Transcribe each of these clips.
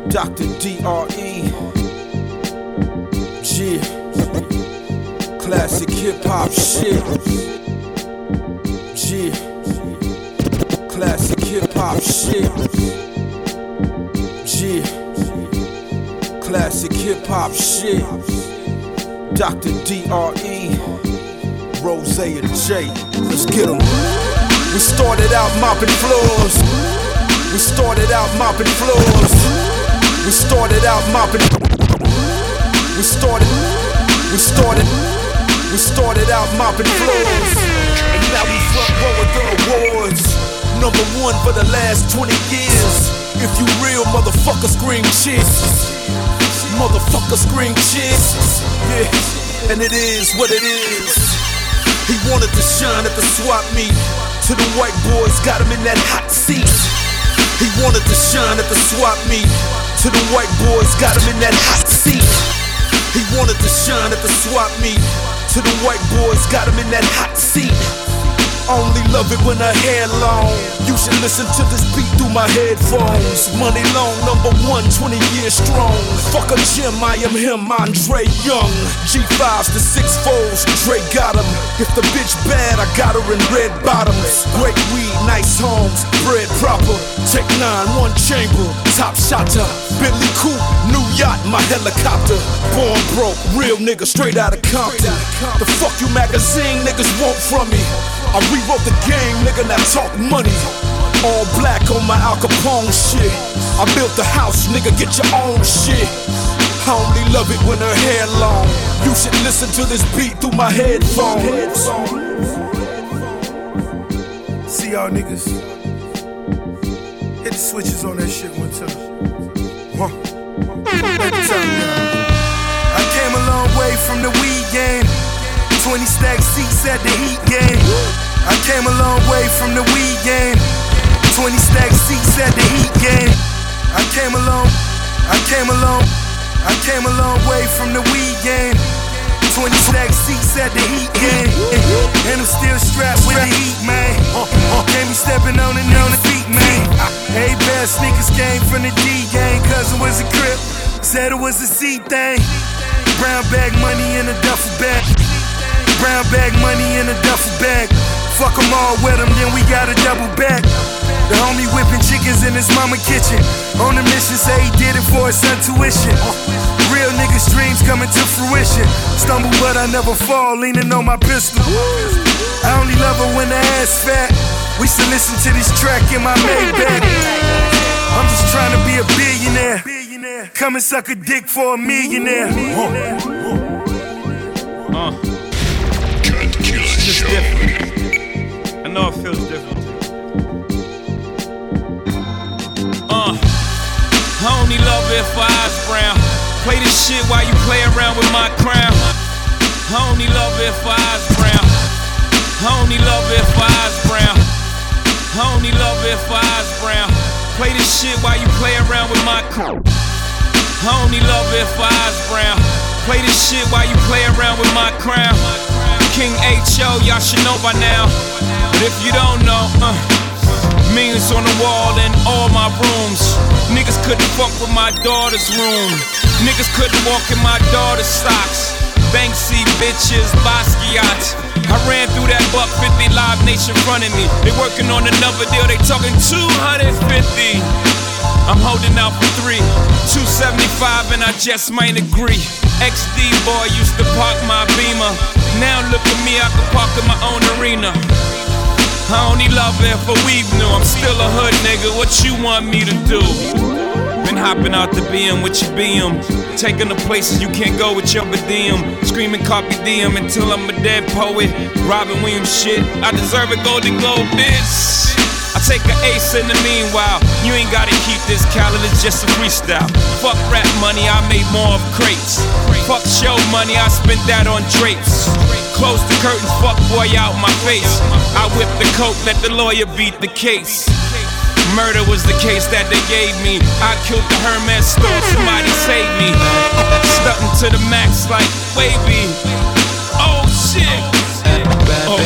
Dr. D.R.E. Yeah. Classic hip hop shit. Yeah. Classic hip hop shit. Yeah. Classic hip hop shit. Dr. D.R.E. Rose and J. Let's get 'em. We started out mopping floors. We started out mopping floors. We started out mopping. We started out mopping floors. And now we front row with the awards. Number one for the last 20 years. If you real, motherfucker, scream cheers. Motherfucker, scream cheers. Yeah, and it is what it is. He wanted to shine at the swap meet. To the white boys, got him in that hot seat. He wanted to shine at the swap meet. To the white boys, got him in that hot seat. He wanted to shine at the swap meet. To the white boys, got him in that hot seat. Only love it when her hair long. You should listen to this beat through my headphones. Money long, number one, 20 years strong. Fuck a gym, I am him, Andre Young. G5s to 6-4s, Dre got him. If the bitch bad, I got her in red bottoms. Great weed, nice homes, bread proper. Tech 9, one chamber, top shotter. Bentley coupe, new yacht, my helicopter. Born broke, real nigga, straight out of Compton. The fuck you magazine niggas want from me? I rewrote the game, nigga, now talk money. All black on my Al Capone shit. I built the house, nigga, get your own shit. I only love it when her hair long. You should listen to this beat through my headphones. See y'all niggas. Hit the switches on that shit one time. Every time now. I came a long way from the weed game. 20 stack seats at the Heat game. I came a long way from the weed game. 20 stack seats at the Heat game. I came a long way from the weed game. 20 stack seats at the Heat game. And I'm still strapped with the heat, man. Can't be stepping on the feet, man. Hey, bad sneakers came from the D gang. Cousin was a crip, said it was a C thing. Brown bag money in a duffel bag. Brown bag money in a duffel bag. Fuck them all with them, then we got a double back. The homie whipping chickens in his mama kitchen. On a mission, say he did it for his son tuition. Real niggas' dreams coming to fruition. Stumble but I never fall, leaning on my pistol. I only love her when the ass fat. We should listen to this track in my Maybach. I'm just trying to be a billionaire. Come and suck a dick for a millionaire. It's just different. I know it feels different. I only love it for eyes brown. Play this shit while you play around with my crown. I only love it for eyes brown. I only love it for eyes brown. I only love it for eyes brown. Play this shit while you play around with my crown. I only love it for eyes brown. Play this shit while you play around with my crown. King H.O., y'all should know by now. But if you don't know, millions on the wall in all my rooms. Niggas couldn't fuck with my daughter's room. Niggas couldn't walk in my daughter's socks. Banksy bitches, Basquiat. I ran through that $150 Live Nation fronting me. They working on another deal, they talking 250. I'm holding out for 3, 275 and I just might agree. XD boy used to park my Beamer. Now look at me, I can park in my own arena. I only love it for weed new. I'm still a hood nigga, what you want me to do? Been hopping out the BM with your BM. Taking the places you can't go with your BDM. Screaming copy DM until I'm a dead poet. Robin Williams shit, I deserve a Golden Globe, bitch. I take an ace in the meanwhile. You ain't gotta keep this calendar, it's just a freestyle. Fuck rap money, I made more of crates. Fuck show money, I spent that on drapes. Close the curtains, fuck boy out my face. I whipped the coke, let the lawyer beat the case. Murder was the case that they gave me. I killed the Hermes store, somebody saved me. Stunting to the max like wavy. Oh shit. Oh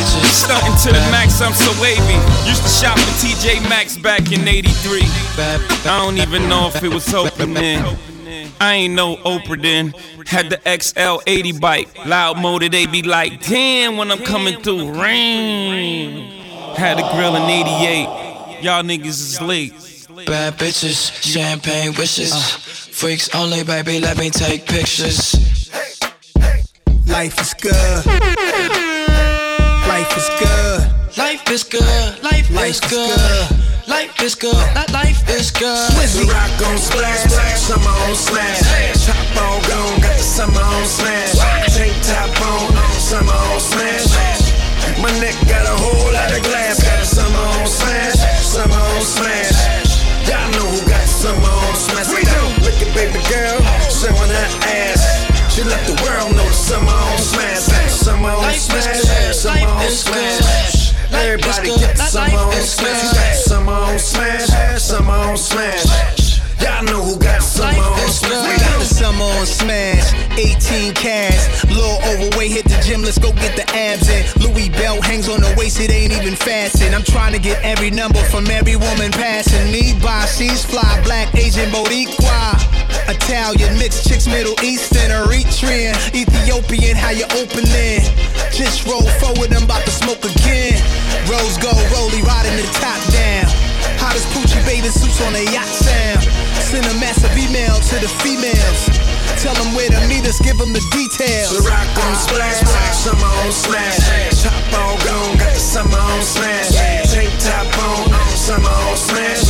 bitches. Stunting to the max, I'm so wavy. Used to shop at TJ Maxx back in '83. I don't even know if it was open then. I ain't no Oprah then. Had the XL80 bike. Loud motor, they be like, damn, when I'm coming through. Rain. Had a grill in '88. Y'all niggas is late. Bad bitches, champagne wishes. Freaks only, baby, let me take pictures. Life is good. Life is good. Life is good. Life is good. Life is good. Life is good. The rock gon' splash, summer on smash. Top all gone, got the summer on smash. Tank top on, summer on smash. My neck got a whole lot of glass, got a summer on smash, summer on smash. Y'all know who got summer on smash. We do. Look at baby girl, showing her ass. She let the world know the summer on smash, summer on smash, summer on smash. Everybody get the summer on smash, summer on smash, summer on smash. Y'all know who got summer on smash. We got the summer on smash, 18 cash. Little overweight, hit the gym, let's go get the abs in. Louis belt hangs on the waist, it ain't even fastened. I'm trying to get every number from every woman passing me by. She's fly, black, Asian, Boricua, Italian, mixed chicks, Middle Eastern, Eritrean, Ethiopian, how you opening? Just roll forward, I'm about to smoke again. Rose gold, rollie, riding the top down. Hottest Poochie bathing suits on a yacht sound. Send a massive email to the females. Tell them where to meet us, give them the details. The rock gon' splash, summer on smash. Top all gone, got the summer on smash. Tank top on, summer on smash.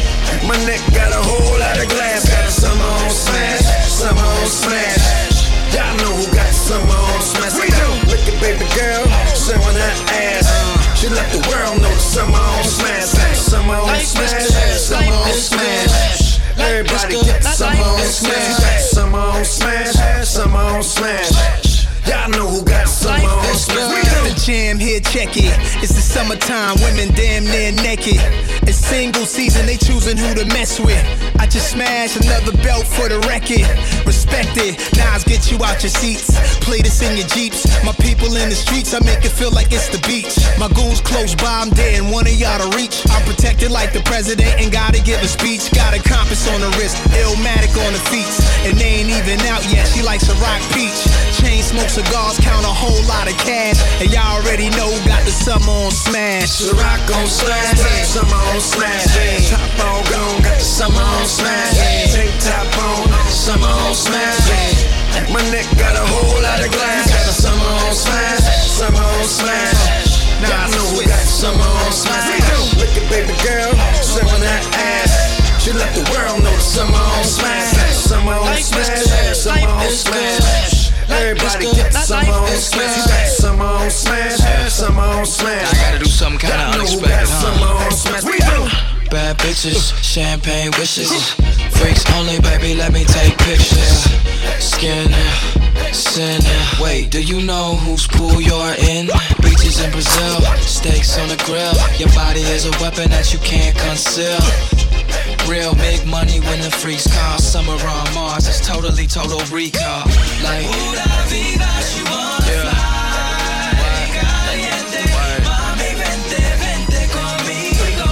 My neck got a whole lot of glass, got a summer on smash, summer on smash. Y'all know who got summer on smash. We do. Look at baby girl, showing her ass. She let the world know the summer on smash, summer on smash, summer on smash. Everybody get the summer on smash, summer on smash, summer on smash. Y'all know who got summer on smash. We do. The jam here, check it. It's the summertime, women damn near naked. It's single season, they choosing who to mess with. I just smashed another belt for the record. Respect it, Nas get you out your seats. Play this in your Jeeps. My people in the streets, I make it feel like it's the beach. My goons close by, I'm dead and one of y'all to reach. I'm protected like the president and gotta give a speech. Got a compass on the wrist, Illmatic on the feet. And they ain't even out yet, she likes a rock peach. Chain smoke cigars, count a whole lot of cash. And y'all already know who got the summer on smash. The rock on smash, summer on smash. Top all gone, got the summer on smash. Tank top on, summer on smash. My neck got a whole lot of glass, got the summer on smash, summer on smash. Y'all know who got summer on smash. We do. Look at baby girl, showing her ass. She let the world know the summer on smash, summer on smash, summer on smash. Everybody get the summer on smash, summer on smash, summer on smash. I gotta do something kinda unexpected, summer on smash. We do. Bad bitches, champagne wishes. Freaks only, baby, let me take pictures. Skin, sin. Wait, do you know whose pool you're in? Beaches in Brazil, steaks on the grill. Your body is a weapon that you can't conceal. Real big money when the freaks call. Summer on Mars, it's totally total recall. Like, pura vida, she wanna fly. Caliente, mami, vente, vente conmigo.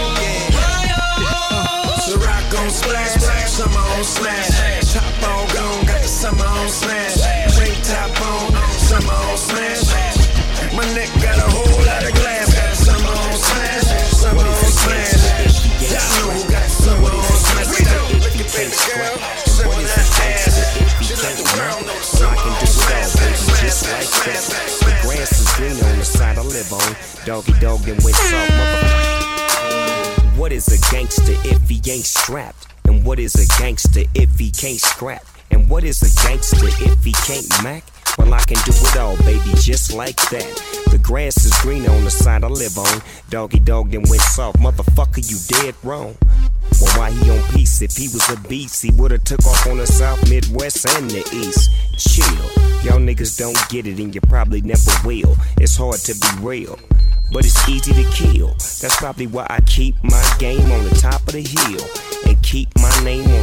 The rock on splash, summer on smash. Top all gone, got the summer on smash. Tank top on, summer on smash. My neck got a whole lot of glass, got the summer on smash, summer on smash. Y'all know who got summer on smash. We do. Look at baby girl, showing her ass. She let the world know the summer on smash. Just like that. The grass is green on the side I live on. Doggy dog and went soft, motherfucker. What is a gangster if he ain't strapped? And what is a gangster if he can't scrap? And what is a gangster if he can't mac? Well, I can do it all, baby, just like that. The grass is green on the side I live on. Doggy dog then went soft, motherfucker, you dead wrong. Well, why he on peace? If he was a beast, he would've took off on the South, Midwest, and the East. Chill, y'all niggas don't get it and you probably never will. It's hard to be real, but it's easy to kill. That's probably why I keep my game on the top of the hill and keep my name on the top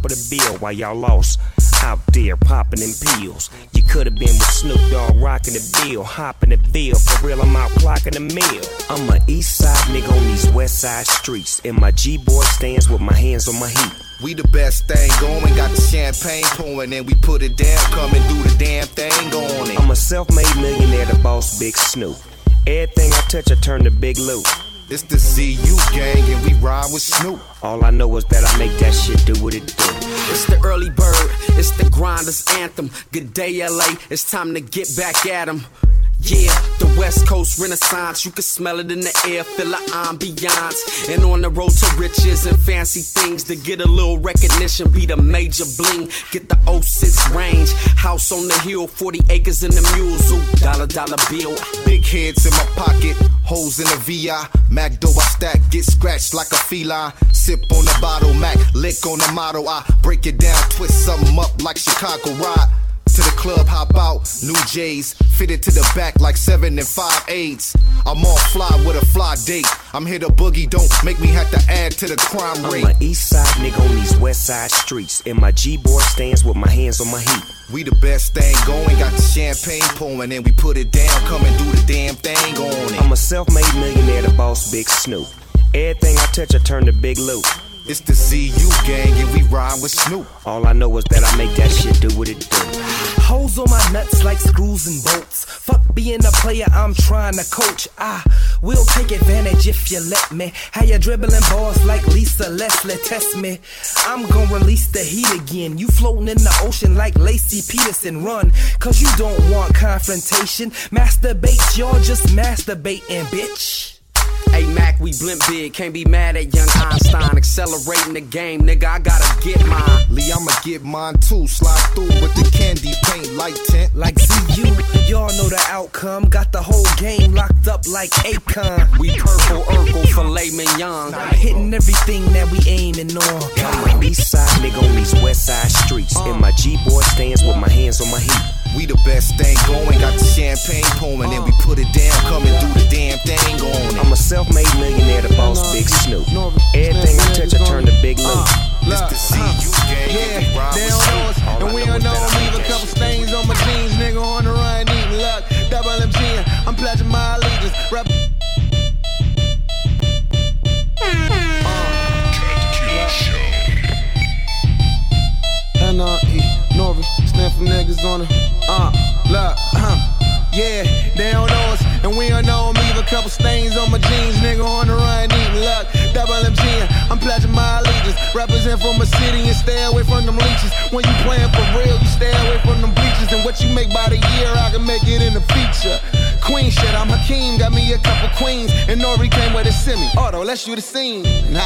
top of the bill while y'all lost out there popping them pills. You could've been with Snoop Dogg rocking the bill, hopping the bill. For real, I'm out clocking the mill. I'm a east side nigga on these west side streets. And my G-boy stands with my hands on my heat. We the best thing going, got the champagne pouring, and we put it down, come and do the damn thing on it. I'm a self-made millionaire, the boss, Big Snoop. Everything I touch, I turn to Big Loot. It's the ZU gang, and we ride with Snoop. All I know is that I make that shit do what it do. It's the early bird, it's the grinder's anthem. Good day, LA, it's time to get back at 'em. Yeah, the West Coast Renaissance, you can smell it in the air, feel the ambiance. And on the road to riches and fancy things, to get a little recognition, be the major bling. Get the 06 range, house on the hill, 40 acres in the mules, ooh, dollar bill. Big heads in my pocket, holes in the VI. Mac dough I stack, get scratched like a feline. Sip on the bottle, Mac, lick on the motto. I break it down, twist something up like Chicago ride. To the club, hop out, new J's, fitted to the back like 7 and 5/8. I'm all fly with a fly date. I'm here to boogie, don't make me have to add to the crime rate. I'm an east side nigga on these west side streets. And my G-boy stands with my hands on my heat. We the best thing going, got the champagne pouring, and we put it down, come and do the damn thing on it. I'm a self-made millionaire, the boss, Big Snoop. Everything I touch, I turn to Big Loot. It's the ZU gang, and we ride with Snoop. All I know is that I make that shit do what it do. Hoes on my nuts like screws and bolts. Fuck being a player, I'm trying to coach. I will take advantage if you let me. How you dribbling balls like Lisa Leslie, test me. I'm gonna release the heat again. You floating in the ocean like Lacey Peterson, run. Cause you don't want confrontation. Masturbate, y'all just masturbating, bitch. Hey Mac, we blimp big, can't be mad at young Einstein. Accelerating the game, nigga, I gotta get mine. Lee, I'ma get mine too. Slide through with the candy paint light tint. Like ZU, y'all know the outcome. Got the whole game locked up like Akon. We purple Urkel, filet mignon. Hitting everything that we aiming on. I'm an east side nigga on these west side streets. And my G-boy stands with my hands on my heat. We the best thing going, got the champagne pouring, and we put it down, come and do the damn thing on it. I'm a self-made millionaire, the boss, Big Snoop. Everything I touch, I turn to Big Loot. It's the ZU gang, and we ride with Snoop. And we don't know, leave a couple stains on my jeans, nigga on the run, eating luck. Double MG, I'm pledging my allegiance. Rap. N-R-E, Norris, stand for niggas on it. Look, yeah, they don't know us, and we don't know them. Leave a couple stains on my jeans, nigga on the run, eating luck. Double MG, I'm pledging my allegiance. Represent from a city and stay away from them leeches. When you playing for real, you stay away from them bleachers. And what you make by the year, I can make it in the feature. Queen shit, I'm Hakeem, got me a couple queens, and Nori came with a semi. Auto, let's shoot a scene.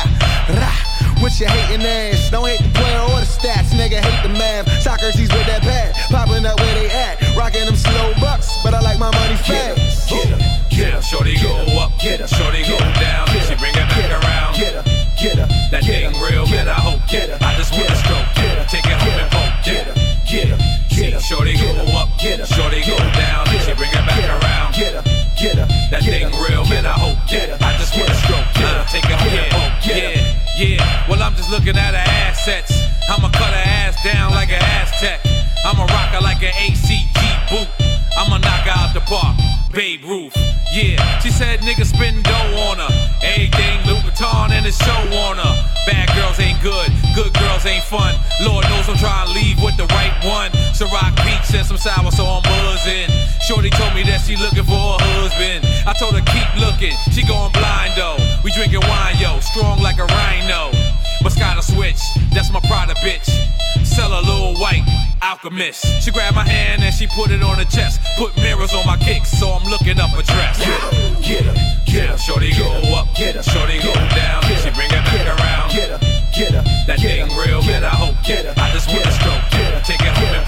With your hating ass, don't hate the player or the stats, nigga hate the math. Socrates with that pad, popping up where they at, rocking them slow bucks, but I like my money fast. Get her, get her, shorty go up, get her, shorty go down, she bring it back around. Get her, that thing real, man, I hope. I just wanna stroke, take it home and poke. Get her, shorty go up, shorty go down, she bring it back around. That thing real, man, I hope. I just wanna stroke, take it home and poke. Yeah, well I'm just looking at her assets. I'ma cut her ass down like an Aztec. I'ma rock her like an ACG boot. I'ma knock her out the park, Babe Ruth. Yeah, she said niggas spend dough on her. Everything Louis Vuitton and the show on her. Bad girls ain't good girls ain't fun. Lord knows I'm trying to leave with the right one. Ciroc Beach and some sour, so I'm buzzing. Shorty told me that she looking for a husband. I told her keep looking, she going blind though. We drinking wine, yo, strong like a rhino. Moscato switch, that's my Prada bitch. Sell a little white alchemist. She grabbed my hand and she put it on her chest. Put mirrors on my kicks, so I'm looking up a dress. Get her, shorty go up, shorty go down, she bring it back around. That thing real, man, I hope. I just wanna stroke, take it home and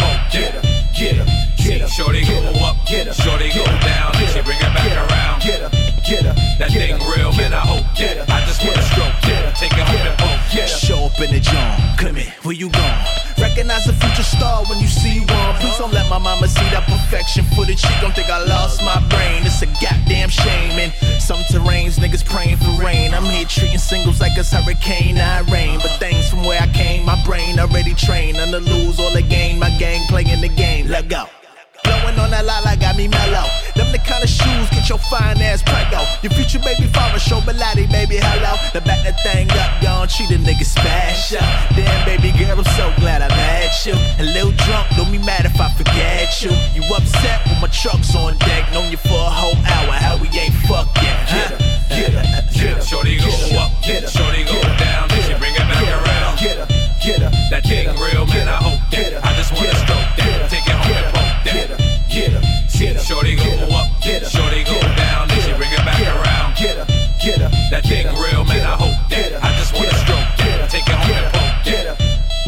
poke. Shorty go up, shorty go down, she bring it back around. That thing real, man, I hope. I just wanna stroke, take it home and poke. Show up in the joint, come here, where you gone? recognize a future star when you see one. Please don't let my mama see that perfection footage. She gon' think I lost my brain. It's a goddamn shame. In some terrains, niggas praying for rain. I'm here treating singles like it's Hurricane Irene. But things from where I came, my brain already trained. None to lose, all to gain. My gang playing the game. Let go. Blowing on that lala got me mellow. Them the kind of shoes get your fine ass prego. Your future baby father show Bilotti, baby, hello. Now back that thing up, y'all treat a nigga special. Damn, baby girl, I'm so glad I met you. A little drunk, don't be mad if I forget you. You upset when my truck's on deck. Known you for a whole hour, how we ain't fucked yet. Get her, get her. Shorty go up, shorty go down, then she bring it back around. Get her. That thing real, man, I hope that. I just wanna stroke that, take it home and poke that. Get her. Shorty go up, shorty go down, then she bring it back around. That thing real, man, I hope that. I just wanna stroke that, take it home and poke that.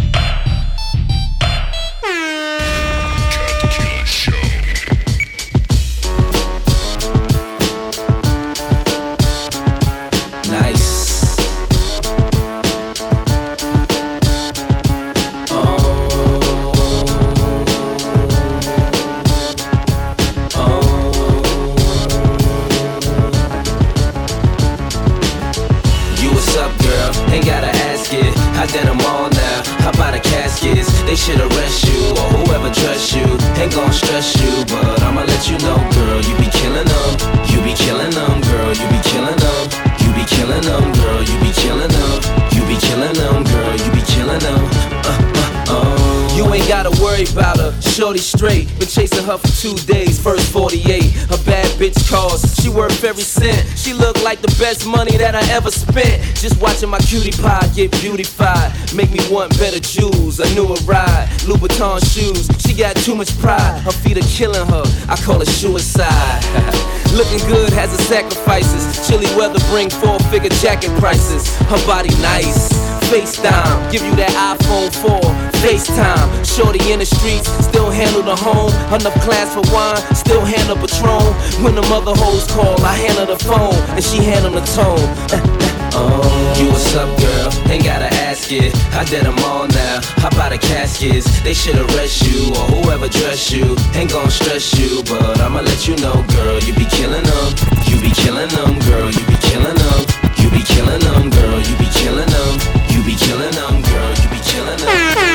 I did them all now, how about the caskets? They should arrest you, or whoever trusts you. Ain't gon' stress you, but I'ma let you know, girl, you be killing them. You be killing them, girl, you be killing them. You be killing them, girl, you be killing them. You be killing them, girl, you be killing them. You ain't gotta worry about her, shorty straight. Been chasing her for 2 days, first 48. A bad bitch calls, she worth every cent. She look like the best money that I ever spent. Just watching my cutie pie get beautified. Make me want better jewels, a newer ride. Louboutin shoes, she got too much pride. Her feet are killing her, I call it suicide. Looking good has its sacrifices. Chilly weather bring 4-figure jacket prices. Her body nice, FaceTime, give you that iPhone 4, FaceTime. Shorty in the streets, still handle the home. Enough class for wine, still handle Patron. When the mother hoes call, I handle the phone, and she handle the tone. You what's up, girl? Ain't gotta ask it. I did them all now. How about the caskets? They should arrest you, or whoever dress you. Ain't gon' stress you, but I'ma let you know, girl, you be killing them. You be killing them, girl, you be killing them. You be killing them, girl, you be killing them. You be killing them, girl, you be killing them.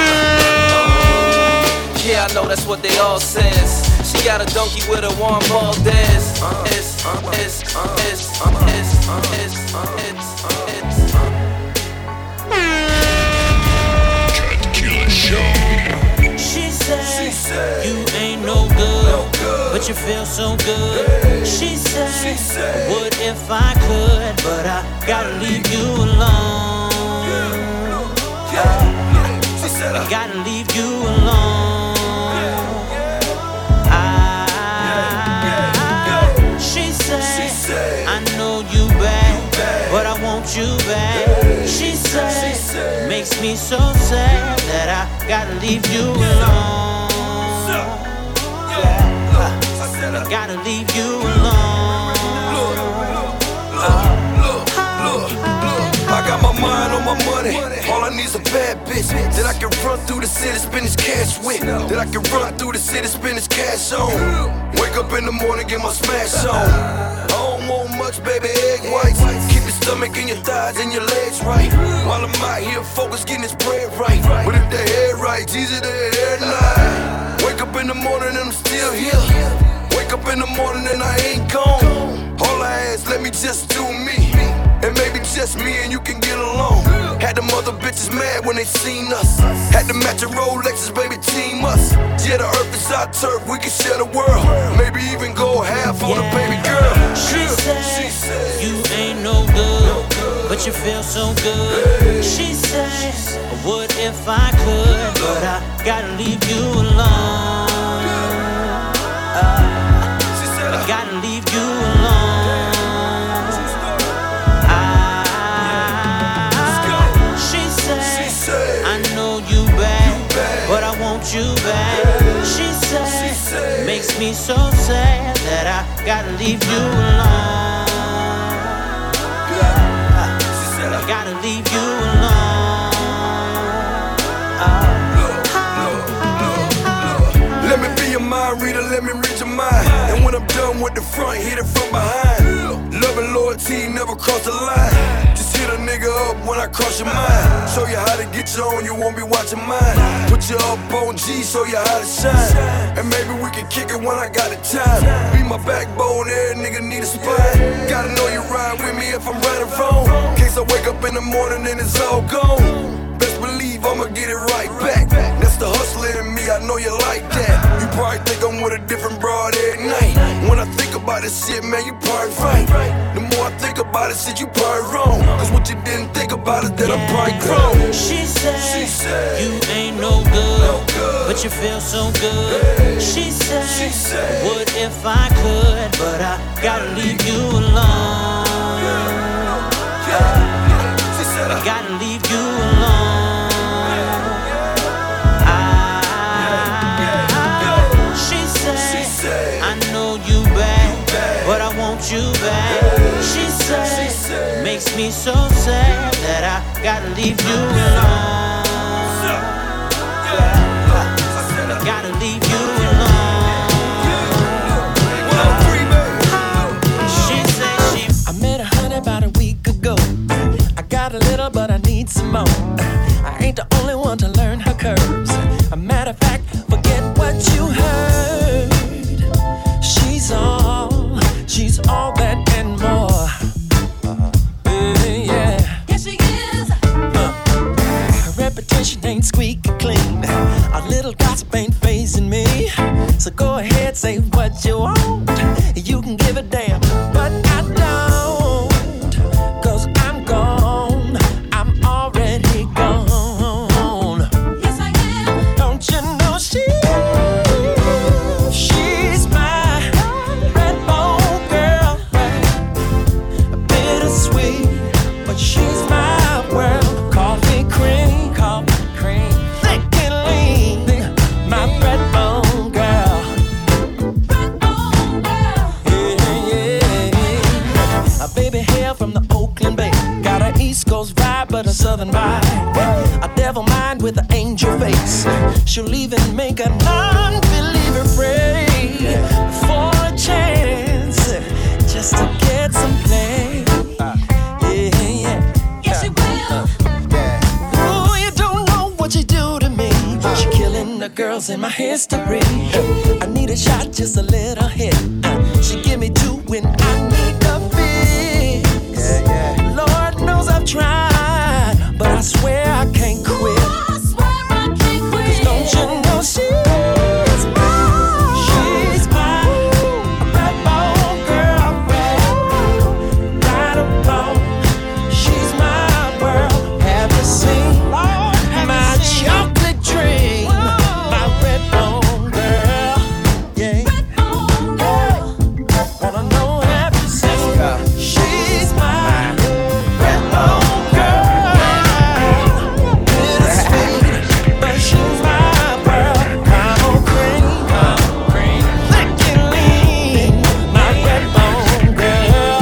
Yeah, I know that's what they all says. She got a donkey with a warm ball dance. She said, you ain't no good, but you feel so good. She said, what if I could, but I gotta leave you alone. I gotta leave you alone. She said, I know you bad, but I want you back. She said, makes me so sad that I gotta leave you alone. I gotta leave you alone. I got my mind on my money. All I need is a bad bitch that I can run through the city, spend this cash with. That I can run through the city, spend this cash on. Wake up in the morning, get my smash on. I don't want much, baby, egg whites. Keep your stomach and your thighs and your legs right. While I'm out here focused, getting this bread right. But if the head right, it's easy to head lie. Wake up in the morning and I'm still here. Wake up in the morning and I ain't gone. All I ask, let me just do me. And maybe just me and you can get along. Had them other bitches mad when they seen us. Had to match a Rolexes, baby, team us. Yeah, the earth is our turf, we can share the world. Maybe even go half on a baby girl. She said, you ain't no good, but you feel so good. She said, what if I could, but I gotta leave you alone. I gotta leave you alone. I know you bad, but I want you back. She said, makes me so sad that I gotta leave you alone. I gotta leave you alone. let me read your mind. And when I'm done with the front, hit it from behind. Love and loyalty never cross the line. Just hit a nigga up when I cross your mind. Show you how to get you on, you won't be watching mine. Put you up on G, show you how to shine. And maybe we can kick it when I got the time. Be my backbone, every nigga need a spine. Gotta know you ride with me if I'm right or wrong. In case I wake up in the morning and it's all gone. Best believe I'ma get it right back. That's the hustler in me, I know you like that. You probably think I'm with a different broad every night. When I think about this shit, man, you probably right. The more I think about it, shit, you probably wrong. Cause what you didn't think about is that I'm probably grown. She said, you ain't no good, but you feel so good. She said, what if I could, but I gotta leave you alone. I gotta leave you alone. She said, I know you bad, but I want you back. She said, makes me so sad that I gotta leave you alone. I gotta leave you alone. She said I met a honey about a week ago. I got a little, but I need some more. I ain't the only one to learn her curves. A matter of fact, forget what you heard. She's all that and more. Yeah. Yes, she is. Her reputation ain't squeaky clean. A little gossip ain't fazing me. So go ahead, say what you want. You can give a damn, but I don't. Cause I'm gone. I'm already gone. Yes, I am. Don't you know she's my red bone girl. Bittersweet, but she's my world. Coffee cream, thick and lean. My red bone girl. Red bone girl. Yeah. A baby hail from the Oakland Bay. Got an East Coast vibe, but a Southern vibe. A devil mind with an angel face. She'll even make a non-believer pray for a chance just to get some play. Yes, she will. Ooh, you don't know what you do to me. She killing the girls in my history. I need a shot, just a little hit. She give me two when I need a fix. Lord knows I've tried, but I swear I can't quit. Cause don't you know she's my red bone girl, right about. She's my world. Have you seen my chocolate dream? My red bone girl, yeah. Red bone girl. Wanna know, have you seen? She's my red bone girl. Bittersweet, but she's my world. Caramel cream, thick and lean. My red bone girl.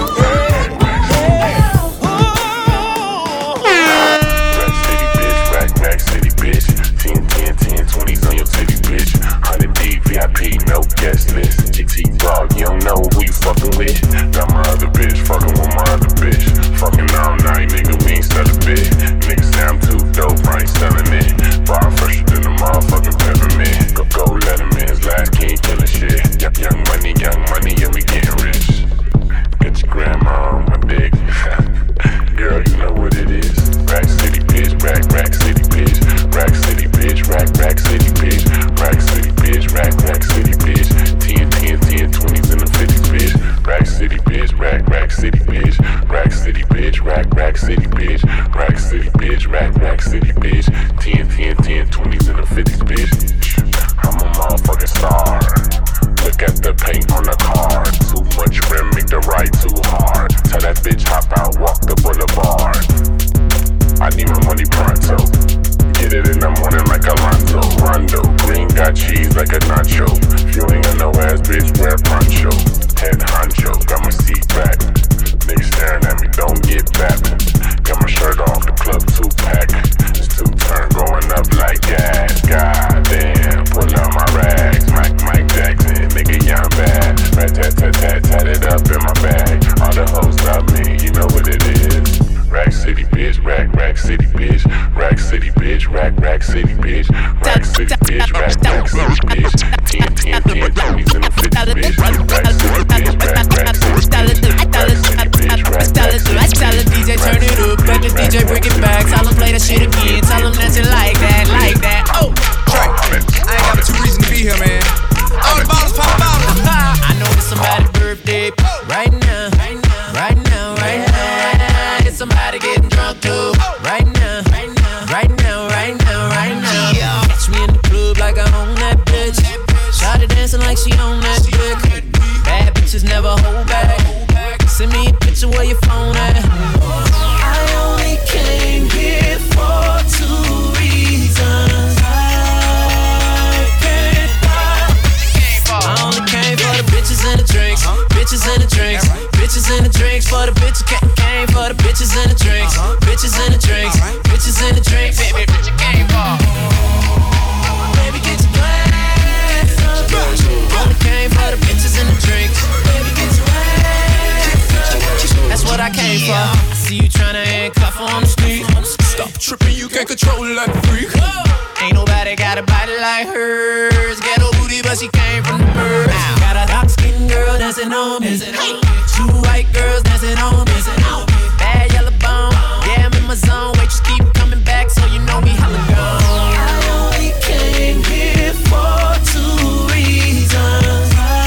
Rack city bitch, 10, 10, 10, 20s on your titty bitch. 100 deep, VIP, no guest list. GT dog, you don't know who you fucking with. Got my other bitch, fucking with my other bitch. Fucking all night, nigga, we ain't sell a bit. Niggas say I'm too dope, I ain't selling it. Bar fresher than a motherfucking peppermint. Go let him in, his last king killing shit. Young money, yeah, we getting rich. Get your grandma on my dick. Girl, you know what it is. Rack city bitch, rack city bitch. Rack city bitch, rack city bitch. Rack city bitch, rack city bitch. 10, 10, 10, 20s and the 50s bitch. Rack city bitch, rack city bitch. Rack city bitch, rack city bitch. Rack city bitch, rack city bitch. 10, 10, 10, 20s and the 50s bitch. I'm a motherfucking star. Look at the paint on the car. Too much rim, make the ride too hard. Tell that bitch hop out, walk the boulevard. I need my money pronto. Get it in the morning like Alonzo. Rondo, green got cheese like a nacho. If you ain't got no ass, bitch, wear poncho. Head honcho, got my seat back. Niggas staring at me, don't get back. Got my shirt off, the club 2-pack. It's 2-turn going up like gas. God damn, pull out my rags. Mike Jackson. Rack City, bitch. Rack City, bitch. Rack City, bitch. 10, 10, 10, 20s and the 50s, bitch. Rack City, bitch. Rack Tell the DJ turn it up, let the DJ bring it back. Tell him play that shit again, tell him that you like that, like that. Oh, Trey, I ain't got but 2 reasons to be here, man. All the bottles, pop bottles. I know it's somebody's birthday right now, right now, right now, right now. It's somebody getting drunk too right now, right now, right now, right now, right now. Catch me in the club like I own that bitch. Shawty dancing like she own that dick. Bad bitches never hold back. Send me a picture where your phone at. I only came here for 2 reasons. I only came for the bitches and the drinks. Bitches and the drinks. Bitches and the drinks. For the bitches came for the bitches and the drinks. Bitches and the drinks. Bitches and the drinks. Baby, bitch, you came for. Baby, get your glass up. Only came for the bitches and the drinks. Baby, get your that's what I came for. I see you tryna handcuff her on the street. Stop tripping, you can't control it like a freak. Ain't nobody got a body like hers. Ghetto booty, but she came from the birds. Got a dark-skinned girl dancing on me. 2 white girls dancing on me. Bad yellow bone, yeah, I'm in my zone. Wait, just keep coming back, so you know me hella gone. I only came here for 2 reasons.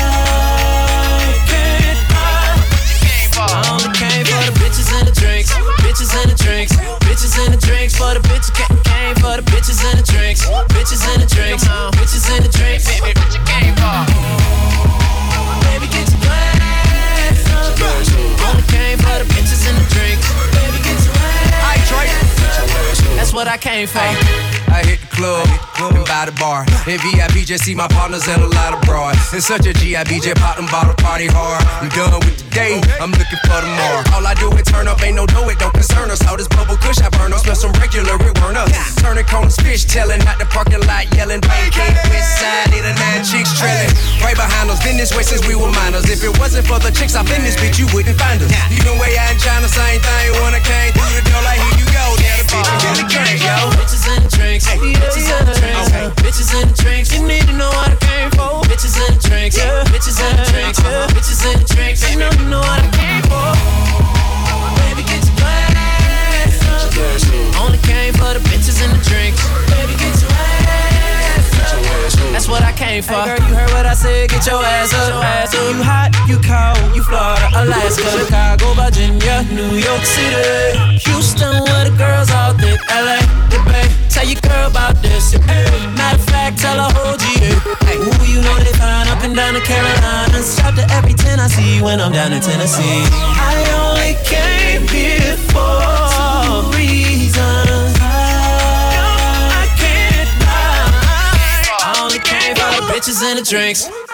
I only came for the bitches and the drinks. Bitches and the drinks. Bitches and the drinks. For the bitches came for the bitches and the drinks. Bitches and the drinks. Bitches and the drinks. Baby, bitch, you came for. Baby, get your glass up. Only came for the bitches and the drinks. Baby, get your glass up. That's what I came for. I hit the club and by the bar. In VIP, just see my partners and a lot of broad. It's such a GIB, just pop them bottle party hard. I'm done with the day, I'm looking for tomorrow. All I do is turn up, ain't no dough, it don't concern us. All this bubble kush I burn up, smell some regular, it burn up. Turning corners, fish telling, out the parking lot yelling. Pancake, west side, 8 or 9 chicks trailing. Right behind us, been this way since we were minors. If it wasn't for the chicks up in this bitch, you wouldn't find us. Even way out in China, same thing. When I came through the door, like here you go, now the bitch is in the game, yo. Bitches and the drinks. Bitches and the drinks. Bitches and the drinks. You need to know what I came for. Bitches and the drinks. Bitches and the drinks. Bitches and the drinks. You know what I came for. Baby, get your glass up. Only came for the bitches and the drinks. Baby, get your ass up. That's what I came for. Hey girl, you heard what I said. Get your ass up. You hot, you cold, you Florida, Alaska, Chicago, Virginia, New York City, Houston, where the girls all thick, LA, the Bay. Tell your girl about this. Matter of fact, tell her whole GA. Ooh, you know they fine up and down the Carolinas. Shop to every 10 I see when I'm down in Tennessee. I only came here for 2 reasons. No, I can't lie. I only came for the bitches and the drinks.